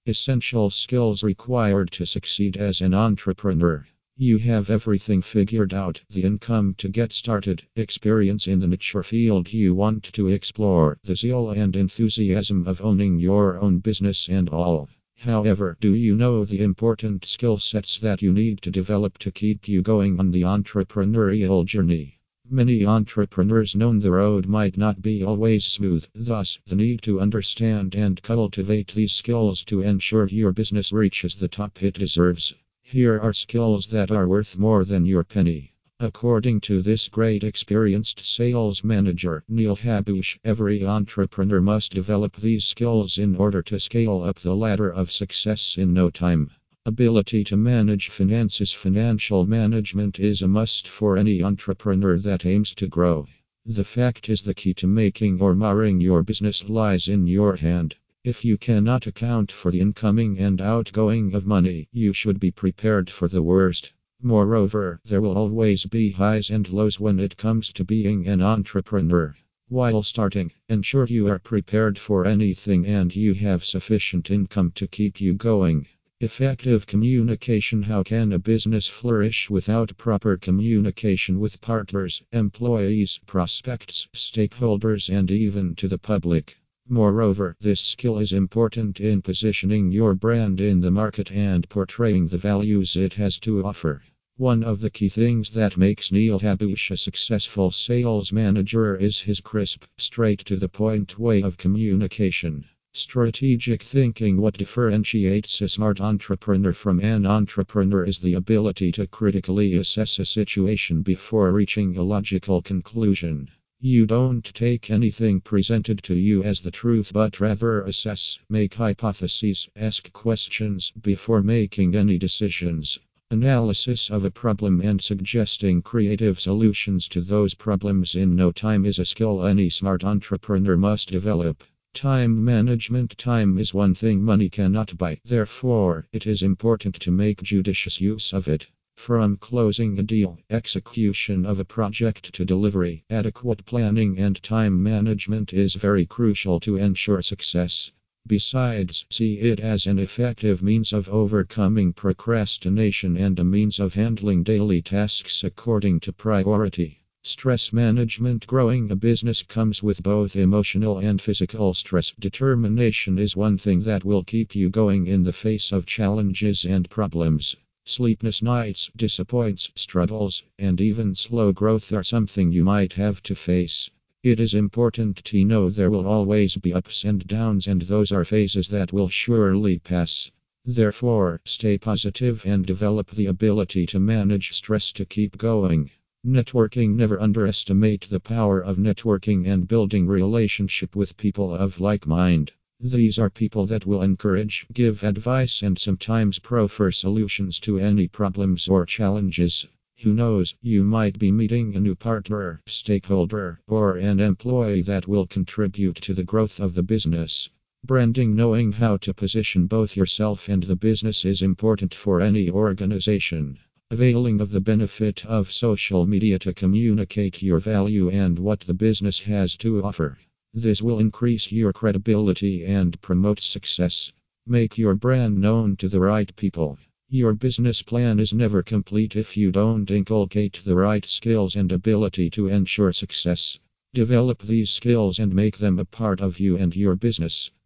Essential skills required to succeed as an entrepreneur. You have everything figured out: the income to get started, experience in the niche field you want to explore, the zeal and enthusiasm of owning your own business, and all. However, do you know the important skill sets that you need to develop to keep you going on the entrepreneurial journey? Many entrepreneurs know the road might not be always smooth, thus, the need to understand and cultivate these skills to ensure your business reaches the top it deserves. Here are skills that are worth more than your penny. According to this great experienced sales manager, Neil Habush, every entrepreneur must develop these skills in order to scale up the ladder of success in no time. Ability to manage finances. Financial management is a must for any entrepreneur that aims to grow. The fact is, the key to making or marring your business lies in your hand. If you cannot account for the incoming and outgoing of money, you should be prepared for the worst. Moreover, there will always be highs and lows when it comes to being an entrepreneur. While starting, ensure you are prepared for anything and you have sufficient income to keep you going. Effective communication. How can a business flourish without proper communication with partners, employees, prospects, stakeholders, and even to the public? Moreover, this skill is important in positioning your brand in the market and portraying the values it has to offer. One of the key things that makes Neil Habush a successful sales manager is his crisp, straight-to-the-point way of communication. Strategic thinking. What differentiates a smart entrepreneur from an entrepreneur is the ability to critically assess a situation before reaching a logical conclusion. You don't take anything presented to you as the truth, but rather assess, make hypotheses, ask questions before making any decisions. Analysis of a problem and suggesting creative solutions to those problems in no time is a skill any smart entrepreneur must develop. Time management. Time is one thing money cannot buy. Therefore, it is important to make judicious use of it. From closing a deal, execution of a project to delivery, adequate planning and time management is very crucial to ensure success. Besides, see it as an effective means of overcoming procrastination and a means of handling daily tasks according to priority. Stress management. Growing a business comes with both emotional and physical stress. Determination is one thing that will keep you going in the face of challenges and problems. Sleepless nights, disappointments, struggles, and even slow growth are something you might have to face. It is important to know there will always be ups and downs, and those are phases that will surely pass. Therefore, stay positive and develop the ability to manage stress to keep going. Networking. Never underestimate the power of networking and building relationship with people of like mind. These are people that will encourage, give advice, and sometimes proffer solutions to any problems or challenges. Who knows, you might be meeting a new partner, stakeholder, or an employee that will contribute to the growth of the business. Branding. Knowing how to position both yourself and the business is important for any organization. Availing of the benefit of social media to communicate your value and what the business has to offer. This will increase your credibility and promote success. Make your brand known to the right people. Your business plan is never complete if you don't inculcate the right skills and ability to ensure success. Develop these skills and make them a part of you and your business.